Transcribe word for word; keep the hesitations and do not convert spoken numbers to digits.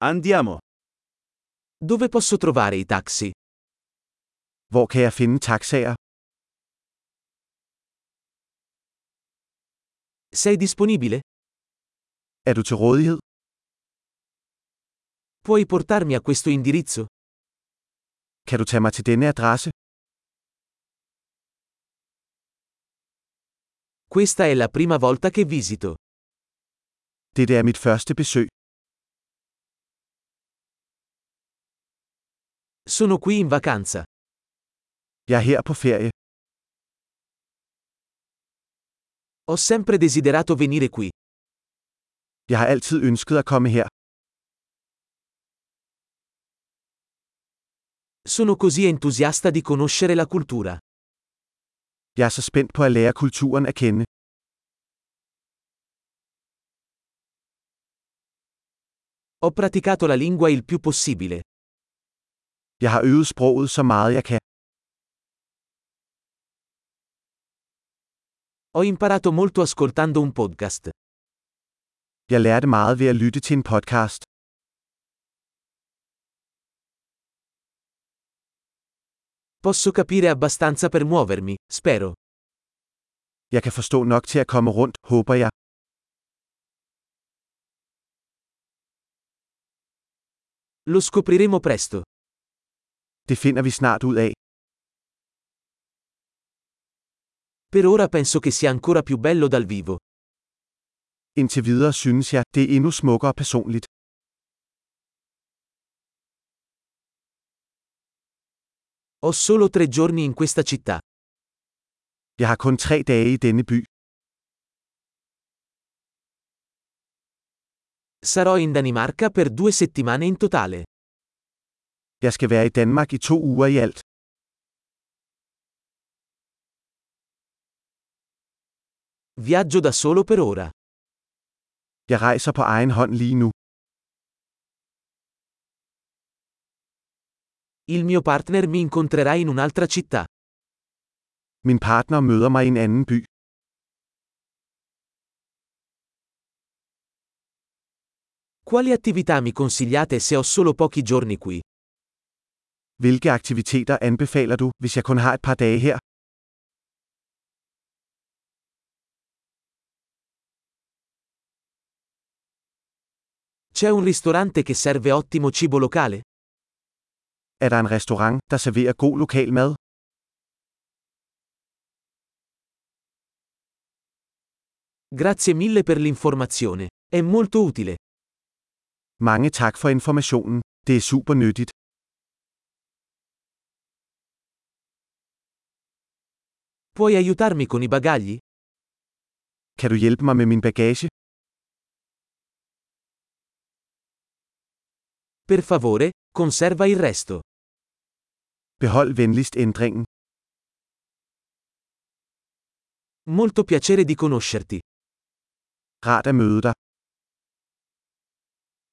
Andiamo. Dove posso trovare i taxi? Hvor kan jeg finde taxaer? Sei disponibile? Er du til rådighed? Puoi portarmi a questo indirizzo? Kan du tage mig til denne adresse? Questa è la prima volta che visito. Dette er mit første besøg. Sono qui in vacanza. Jeg er her på ferie. Ho sempre desiderato venire qui. Jeg har altid ønsket at komme her. Sono così entusiasta di conoscere la cultura. Jeg er så spændt på at lære kulturen at kende. Ho praticato la lingua il più possibile. Jeg har øvet sproget så meget jeg kan. Ho imparato molto ascoltando un podcast. Jeg lærte meget ved at lytte til en podcast. Posso capire abbastanza per muovermi, spero. Jeg kan forstå nok til at komme rundt, håber jeg. Lo scopriremo presto. Det finder vi snart ud af. Per ora penso che sia ancora più bello dal vivo. Indtil videre synes jeg, det er endnu smukkere personligt. Ho solo tre giorni in questa città. Jeg har kun tre dage i denne by. Sarò in Danimarca per due settimane in totale. Jeg skal være i Danmark i to uger i alt. Viaggio da solo per ora. Jeg rejser på egen hånd lige nu. Il mio partner mi incontrerà in un'altra città. Min partner møder mig i en anden by. Quali attività mi consigliate se ho solo pochi giorni qui? Hvilke aktiviteter anbefaler du, hvis jeg kun har et par dage her? C'è un ristorante che serve ottimo cibo locale? Er der en restaurant, der serverer god lokal mad? Grazie mille per l'informazione. È molto utile. Mange tak for informationen. Det er super nyttigt. Puoi aiutarmi con i bagagli? Kan du hjælpe mig med min bagage? Per favore, conserva il resto. Behold venligst ændringen. Molto piacere di conoscerti. Rart at møde dig.